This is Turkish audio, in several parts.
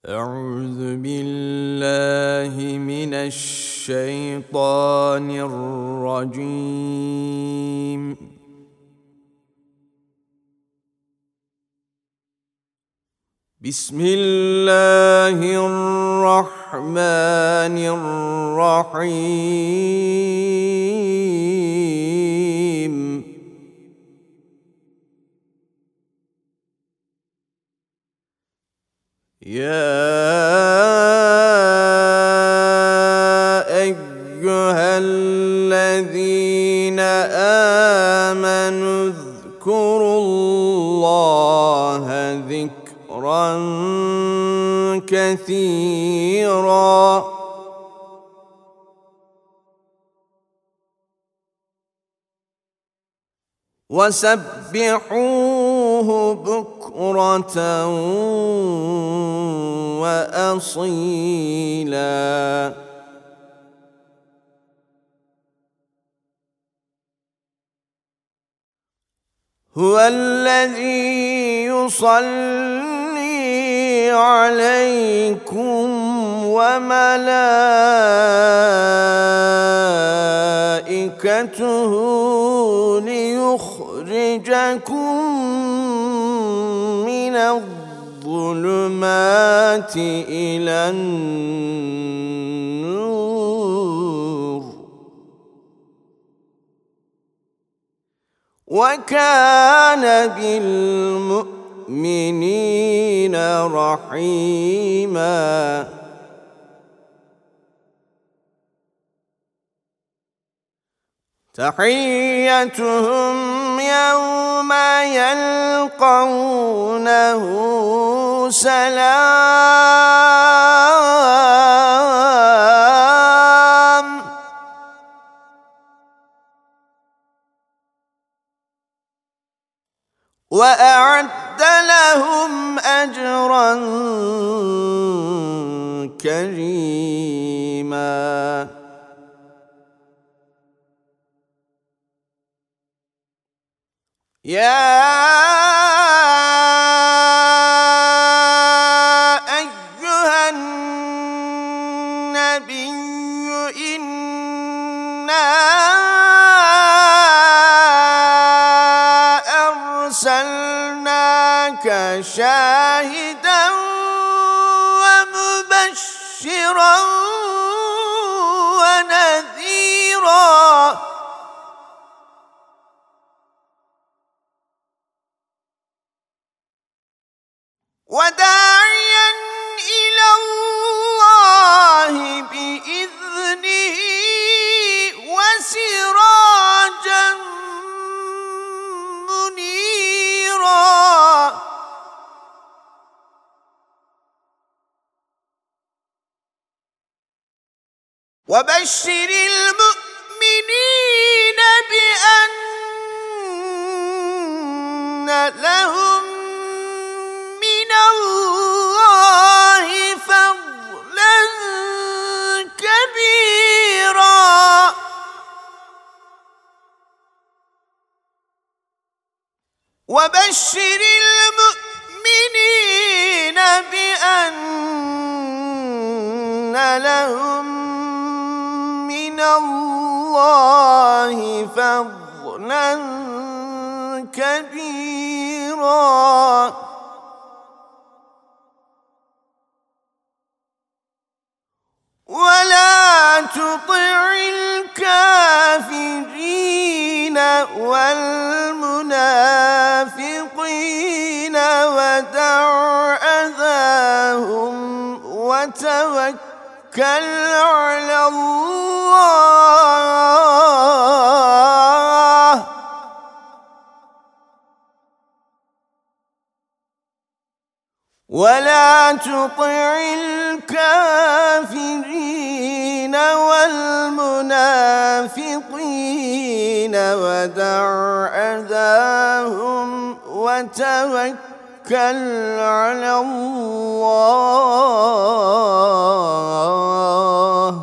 أعوذ بالله من الشيطان الرجيم. بسم الله الرحمن الرحيم. يا أيها الذين آمنوا اذكروا الله ذكرا كثيرا وسبحوه بكرة وأصيلا. هو الذي يصلي عليكم وملائكته ليخرجكم من الظلمات إلى النور وكان بالمؤمنين رحيما. تحيتهم يوم يلقونه سلام وأعد لهم أجرا كريما. يا أيها النبي إنا أرسلناك شاهدا ومبشرا ونذيرا وداعيا إلى الله بإذنه وسراجا منيرا. وبشر المؤمنين بأن لهم من الله فضلا كبيرا. وبشر المؤمنين بأن لهم من الله فضلا كبيرا. ولا تطع الكافرين والمنافقين ودع أذاهم وتوكل على الله ولا تطع الكافرين والمنافقين ودع أذاهم وتوكل على الله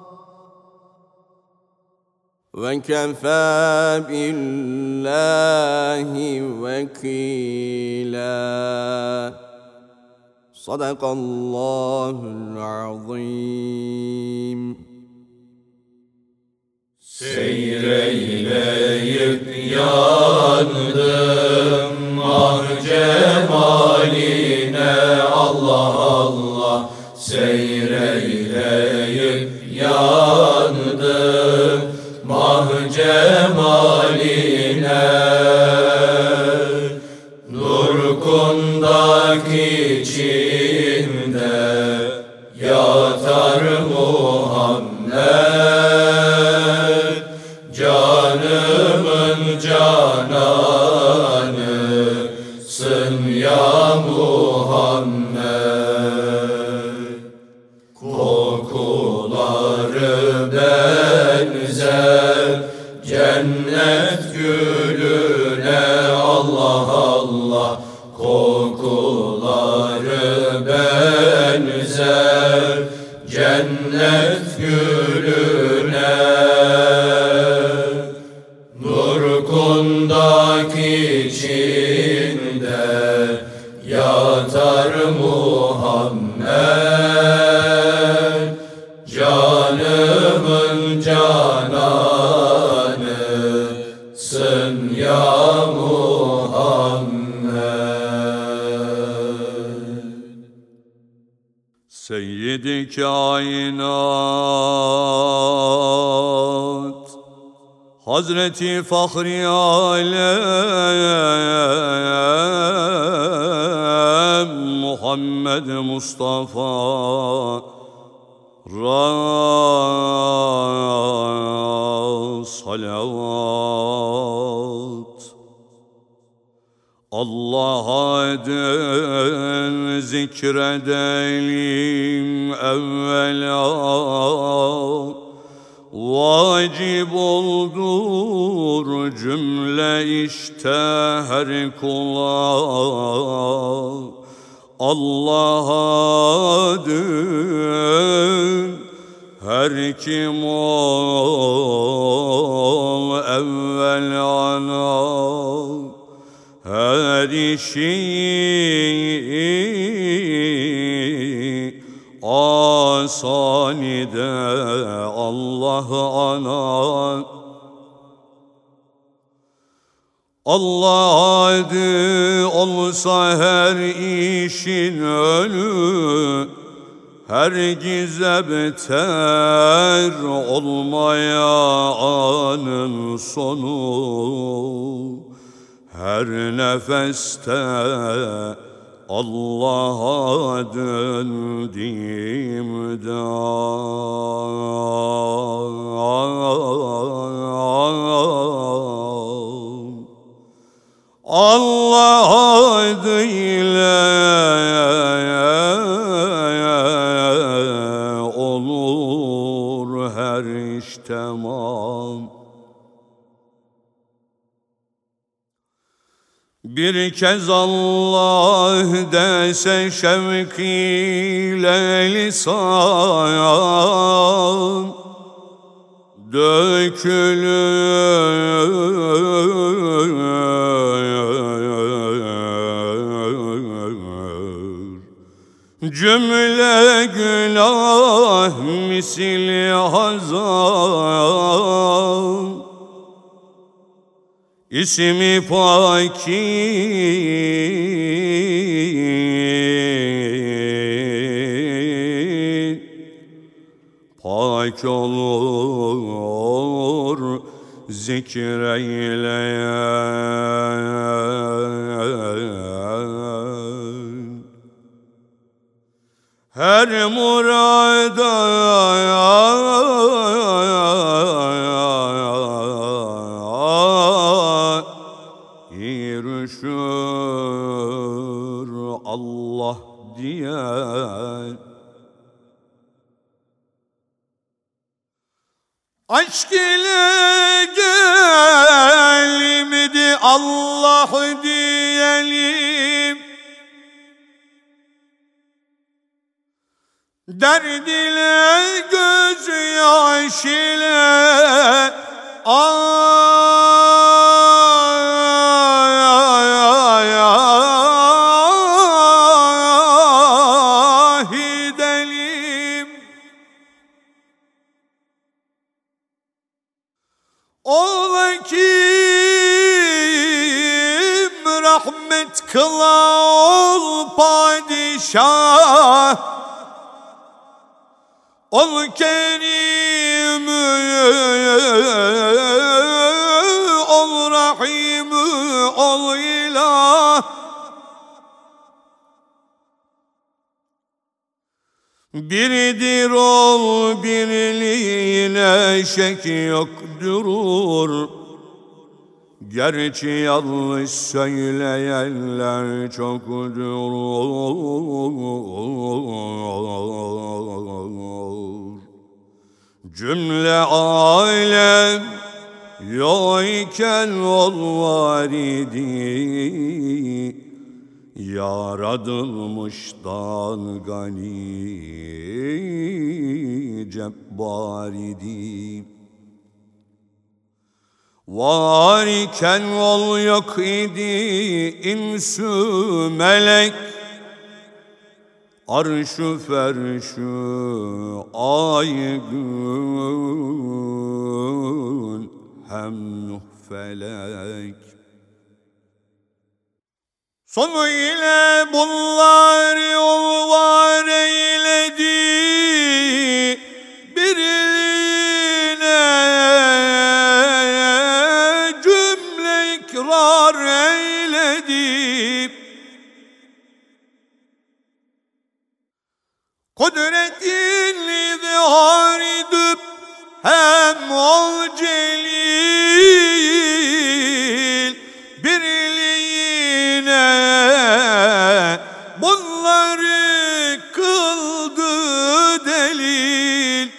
وكفى بالله وكيلا. Sadakallahul azim. Seyreyleyip yandım ah cemaline, Allah Allah. Seyreyleyip yandım ah cemaline, nur kundak içinde yatar Muhammed, canımın cananısın ya Muhammed. Kokuları benzer cennet gülüne, Allah Allah. Kokuları benzer cennet gülüne, nur kundak içinde yatar Muhammed, canımın cananısın ya Muhammed. Seyyid-i kainat Hazreti Fahri Alem Muhammed Mustafa salavat. Allah'a den zikredelim evvela, vacip oldur cümle işte her kula. Allah'a den her kim ol evvelana, her işi asanide Allah ana. Allah adı olsa her işin önü, hergize beter olmaya anın sonu. Her nefeste Allah'a döndüğümde Allah adıyla olur her iş tamam. Bir kez Allah dese şevk ile lisan, dökülür cümle günah misli hazan. İsmi pâkin pak olur zikreyleyen. Her murada erişir Allah diyen. Aşk ile gelimdi Allah diyelim, derd ile gözyaş ile Ola kim rahmet kıla ol padişah, ol kerim, ol rahim, ol ilah. Biridir ol, birliğine şek yoktur. Gerçi yanlış söyleyenler çoktur. Cümle alem yok iken ol var idi. Yaradılmıştan gani cebbar idi. Var iken ol yok idi insü melek, arş-ı ferş-ü ay gün hem nuh felek. Sonu ile bunları ol var eyledi, birliğine cümle ikrar eyledi. Kudretin izhar edip hem ol celil, birliğine bunları kıldı delil.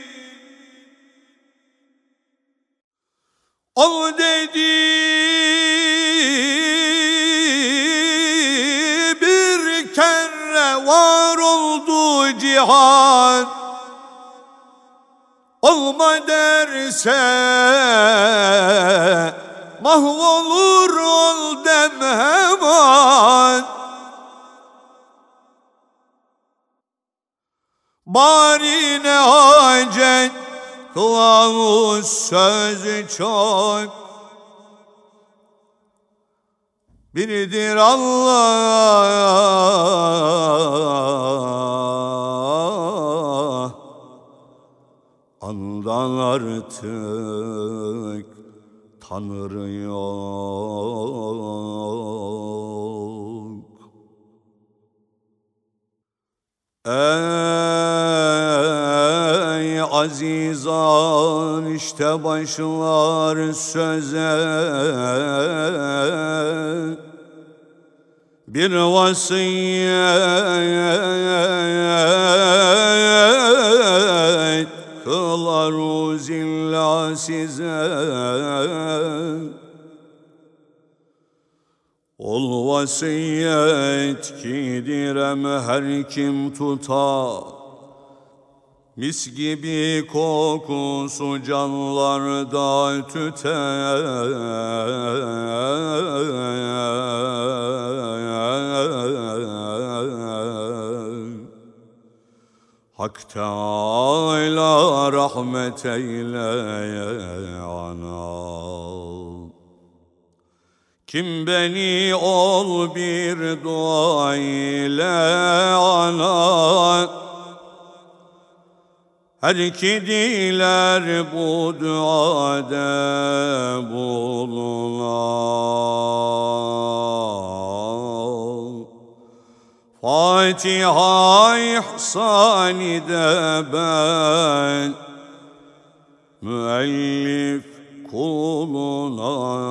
Ol dedi bir kere var oldu cihan, olma derse mahvolur ol dem hemen. Bari ne hacet kılavuz sözü çok, biridir Allah, ondan artık Tanrı yok. Ey azizan, işte başlar söze bir vasiyet kılaruz illa size. Ol vasiyet ki direm her kim tutar, mis gibi kokusu canlarda tüter. Hak Teâlâ rahmet eyle ana. Kim beni ol bir dua ile ana, her ki diler bu duada bulunan. Fatiha ihsan-ı de ben müellif kuluna.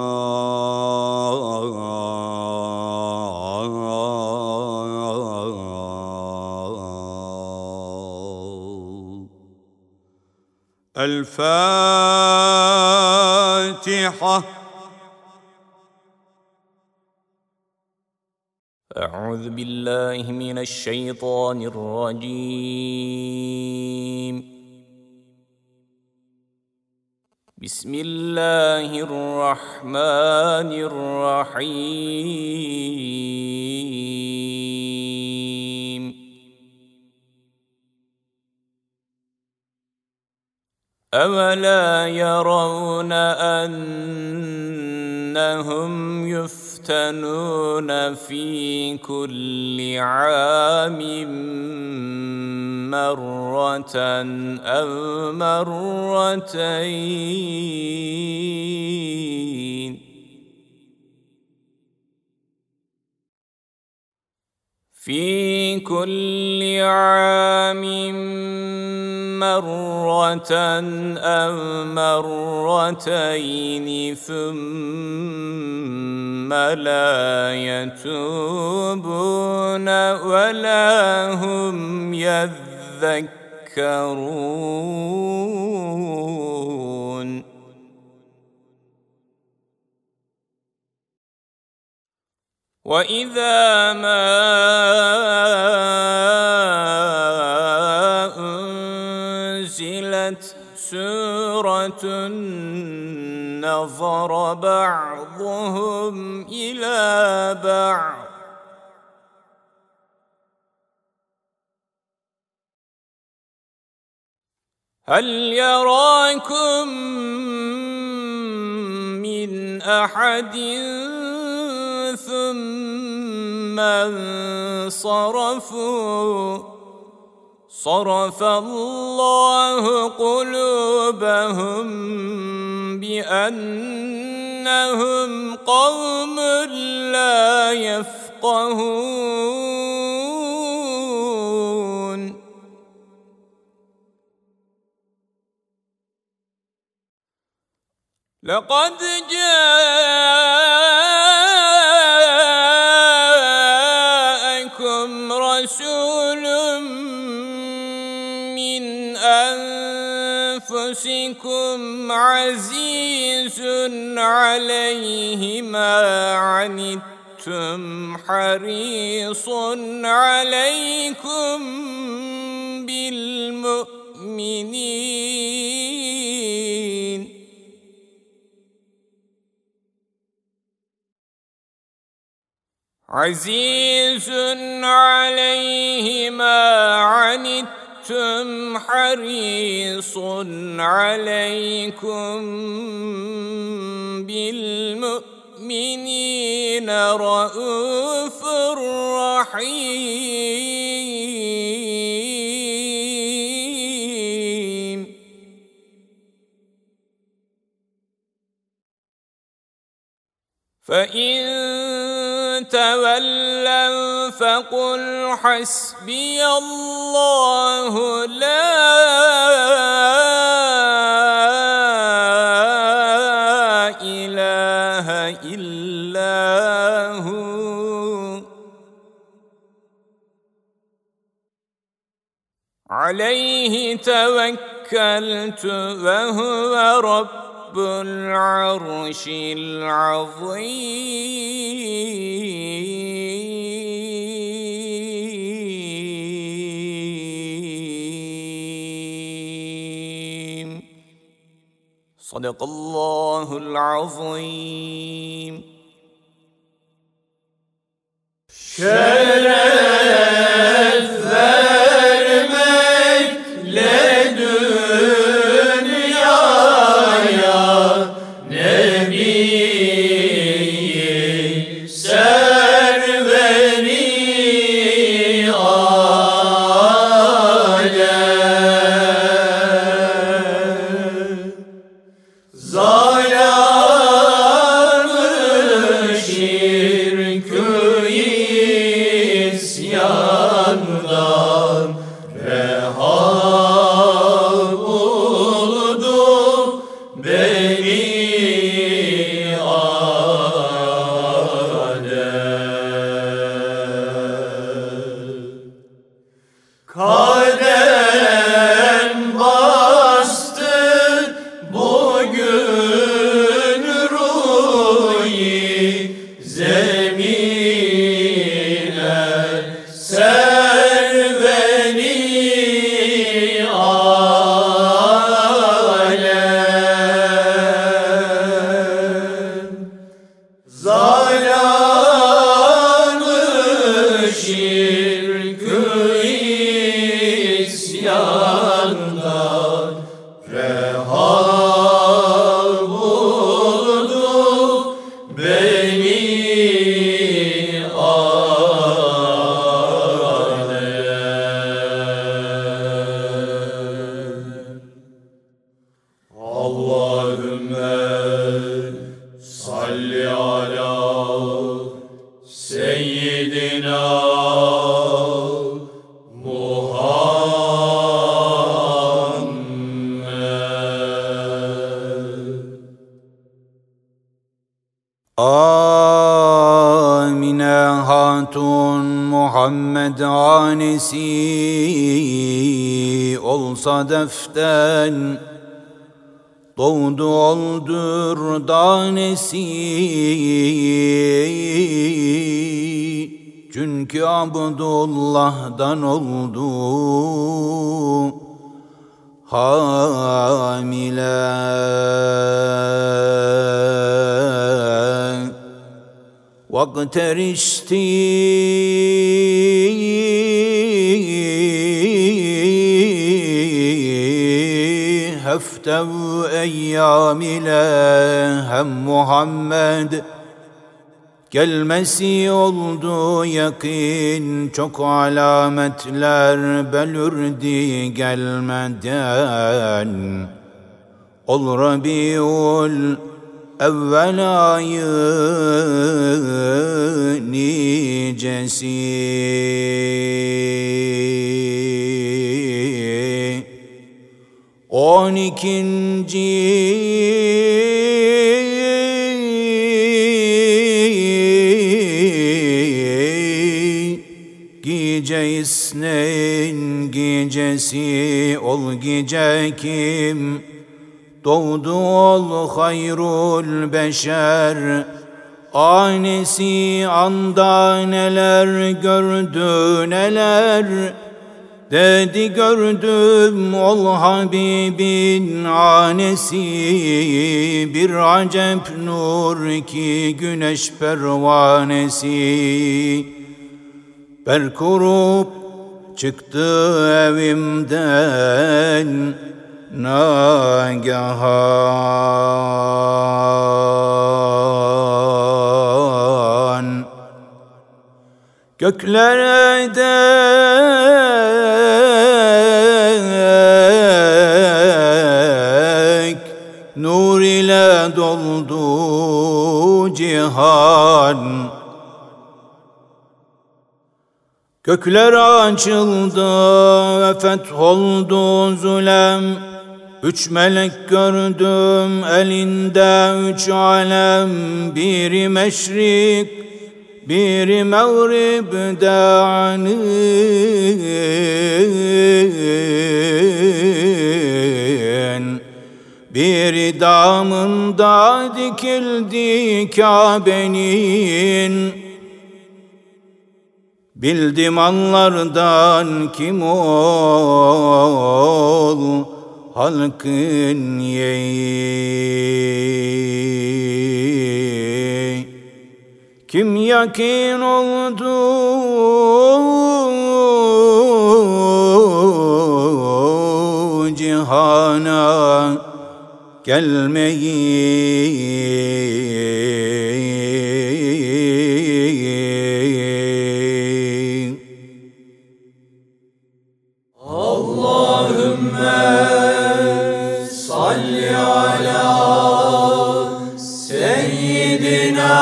El-Fatiha. أعوذ بالله من الشيطان الرجيم. بسم الله الرحمن الرحيم. أولا يرون أنهم يفتنون في كل عام مرة أو مرتين في كل عام مرة أو مرتين ثم لا يتوبون ولا هم يذكرون وإذا ما أنزلت سورة نظر بعضهم إلى بعض هل يراكم من أحد ثم انصرفوا صرف الله قلوبهم بأنهم قوم لا يفقهون لقد جاءكم رسول من أنفسكم عزيز عليه ما عنتم حريص عليكم بالمؤمنين عزيز عليه ما عنتم حريص عليكم بالمؤمنين رؤوف رحيم فإن تولوا فقل حسبي الله لا إله إلا هو عليه توكلت وهو رب العرش العظيم صدق الله العظيم şeref vermek dünyaya Nebi-i serveri alem zalamı şirkü isyandan reha buldu beni Adem kadem bastı bugün ruhi zemine ser beni alem zalamı şirkü isyandan reha Amine Hatun Muhammed hanesi olsa deften, doğdu oldur danesi. Çünkü Abdullah'dan oldu hamile. Vakterişti heftev eyyam ile hem Muhammed gelmesi oldu yakin. Çok alametler belirdi gelmeden. Ol Rabiul evvel ayı nicesi. 12. gece isneyn gecesi ol gece kim doğdu ol hayrul beşer. Anesi anda neler gördü neler, dedi gördüm ol Habibin anesi. Bir acep nur ki güneş pervanesi. Berkurup çıktı evimden nagahan. Göklere dek nur ile doldu cihan. Gökler açıldı ve fetholdu zulem. 3 melek gördüm elinde 3 alem. Biri meşrik, biri mağribde anin. Biri damında dikildi Kabe'nin. Bildim anlardan kim ol halkın yeği. Kim yakin oldu cihana gelmeyi. Salli ala seyyidina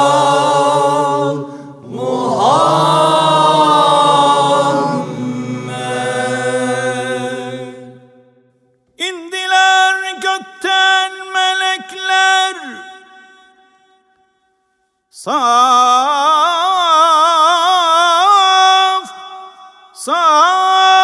Muhammed. İndiler gökten melekler, saf saf.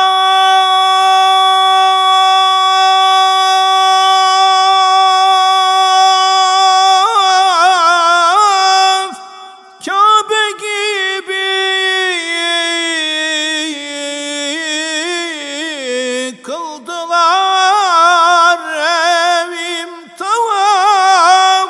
Kıldılar evim tavaf.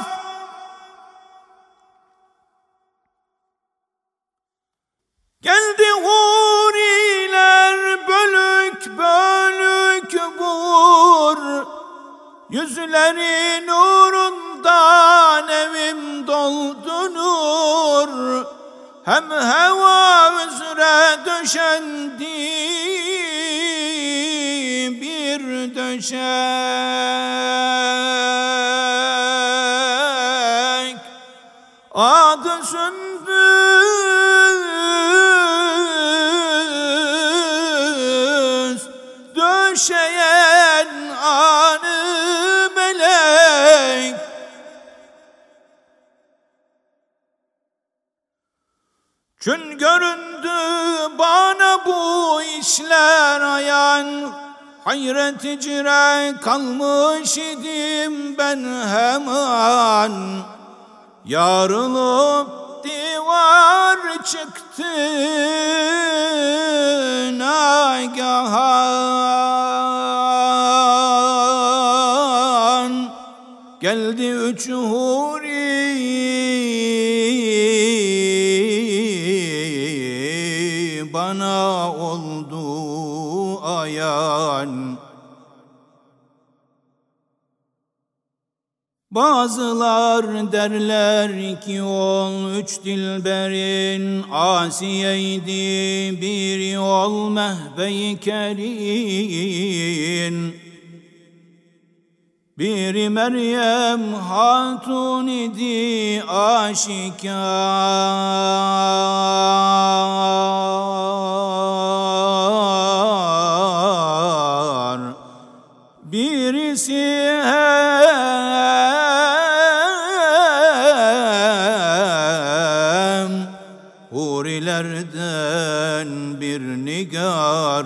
Geldi huriler bölük bölük vur. Yüzleri nurundan evim doldu nur. Hem heva üzere döşendi bir döşek. Adı döşeyen anı melek. Çün göründü bana bu işler ayan, hayret icre kalmış idim ben hemen. Yarılıp divar çıktı nagahan, geldi üç huri bana oldu ayan. Bazılar derler ki ol üç dilberin Asiye'ydi, biri ol Mehbe-i Kerin, biri Meryem Hatun idi aşikar, birisi hurilerden bir nigar.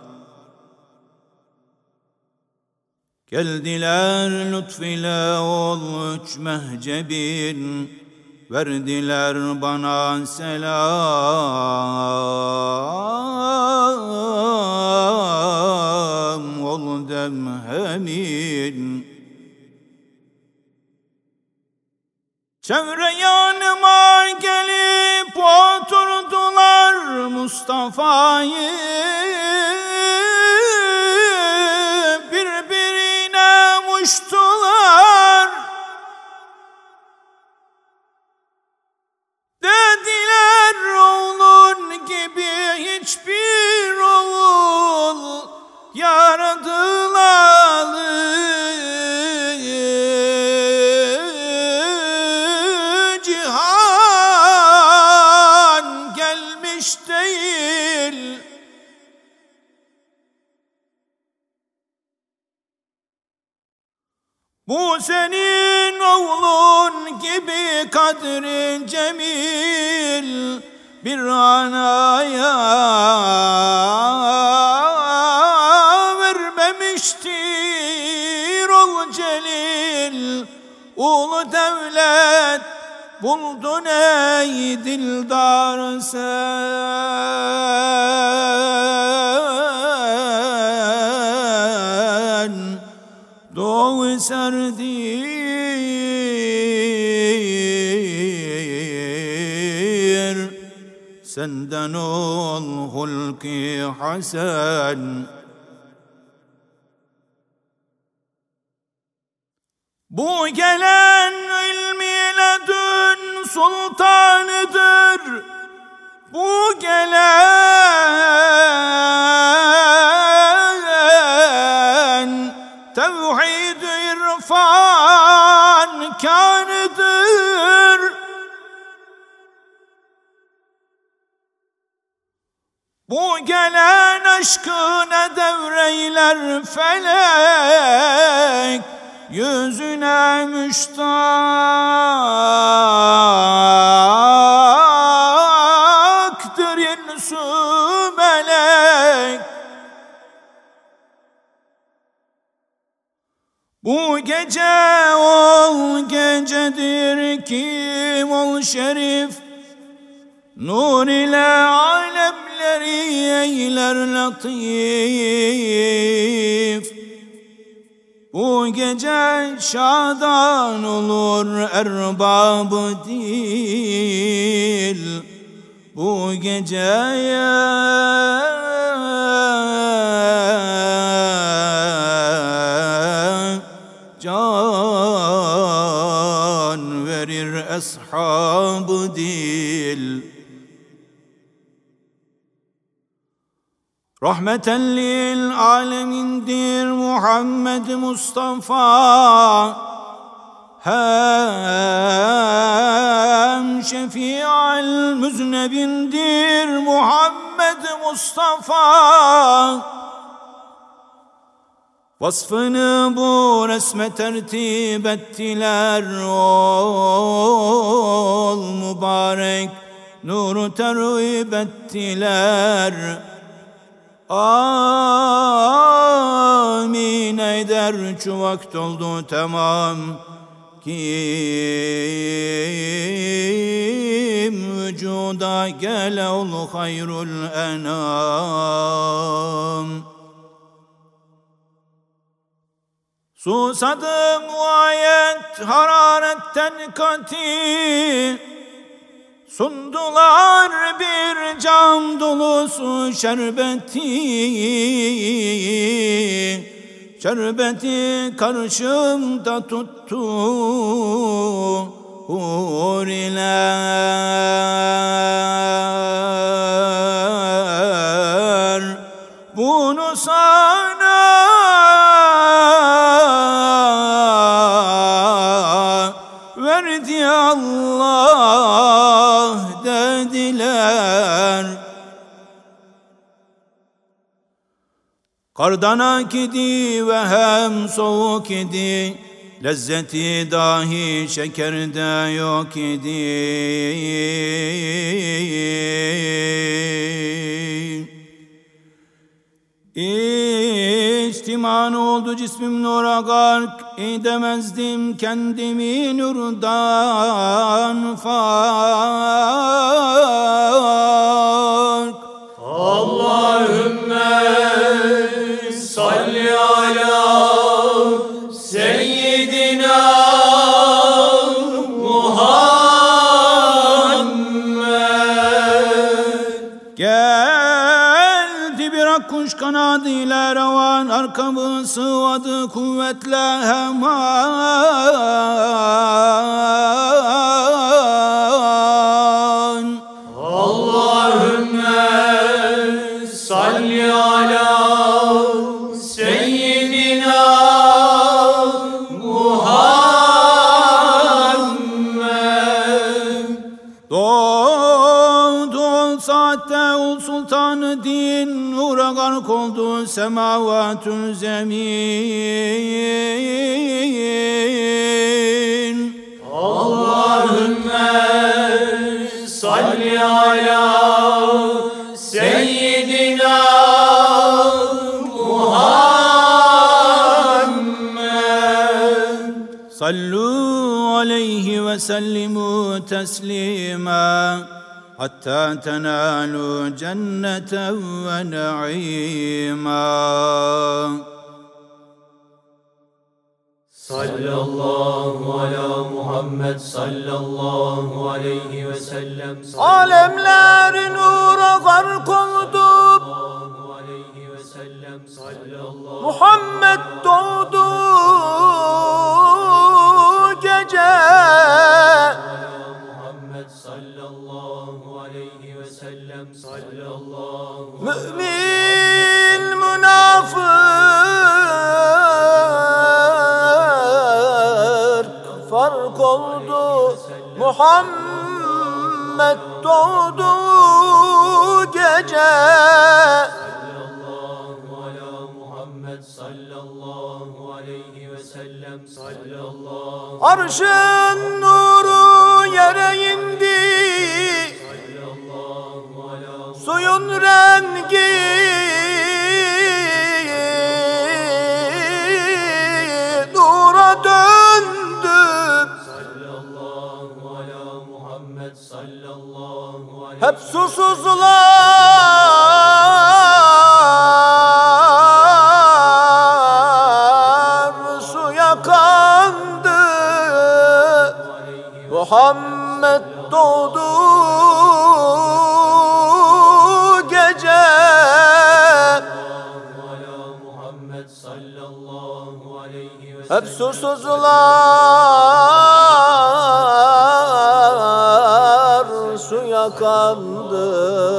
Geldiler lütfüyle ol üç mehcebin, verdiler bana selam ol demhemin. Çevre yanıma gelip oturdular Mustafa'yı, birbirine muştular. Dediler oğlun gibi hiçbir oğul yaradılalı cihan gelmiş değil. Bu senin oğlun gibi kadri cemil bir anaya vermemiştir ol celil. Ulu devlet buldun ey dildar sen, doğu serdir senden ol hulki hasen. Bu gelen ilmi ledün sultanıdır, bu gelen tevhid irfan kânıdır. Bu gelen aşkına devreyler felek, yüzüne müştaktır insü melek. Bu gece ol gecedir kim ol şerif, nur ile alemleri eyler latif. Bu gece şadan olur erbab-ı dil, bu geceye can verir eshab-ı dil. Rahmeten lil alemindir Muhammed Mustafa, hem şefi'al müznebindir Muhammed Mustafa. Vasfını bu resme tertip ettiler, ol mübarek nuru terhib ettiler. Amin eder şu vakt oldu tamam, kim vücuda gele ol hayrul enam. Susadım ayet hararetten kati, sundular bir cam dolusu şerbeti. Şerbeti karşımda tuttu huriler. Bunu sana verdi Allah dediler. Kardan ak idi ve hem soğuk idi, lezzeti dahi şekerde yok idi. İçtiman oldu cismim nura gark, edemezdim kendimi nurdan fark. Allahümme salli ala seyyidina Muhammed. Geldi bir akkuş kanadıyla revan, arkamı sıvadı kuvvetle hemen. Allahümme salli ala seyyidina Muhammed. Doğdu ol saatte ul sultanı din, nura gark oldu semavatü zemin. Allahümme salli ala seyyidina Muhammed. Sallu aleyhi ve sellimu teslima, hatta tenalu cenneten ve naima. Sallallahu ala Muhammed sallallahu aleyhi ve sellem. Alemler nura gark oldu, Sallallahu aleyhi ve sellem. Sallallahu Muhammed doğdu gece. Muhammed sallallahu aleyhi ve sellem. Sallallahu Mümin münafık fark oldu, Muhammed doğdu gece. sallallahu ala Muhammed sallallahu aleyhi ve sellem. Sallallahu Arşın nuru yere indi, ala suyun rengi nura döndü. sallallahu ala Muhammed sallallahu aleyhi Hep susuzlar suya kandı. Muhammed doğdu gece. ala Muhammed sallallahu aleyhi ve Hep susuzlar suya kandı.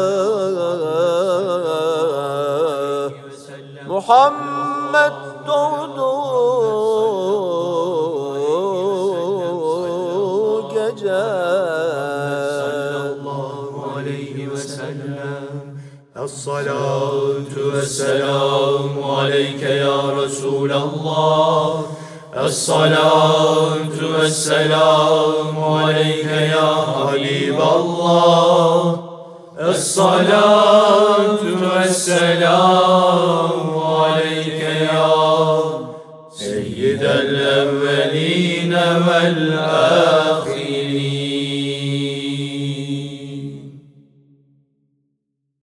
Muhammed doğdu gece. sallallahu aleyhi ve sellem. Ya الصلاة والسلام عليك يا رسول الله الصلاة والسلام عليك يا حبيب الله الصلاة والسلام عليك يا سيد الأولين والآخرين